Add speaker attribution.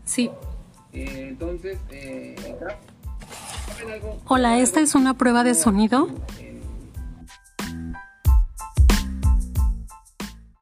Speaker 1: Sí.
Speaker 2: Entonces,
Speaker 1: Hola, esta es una prueba de sonido.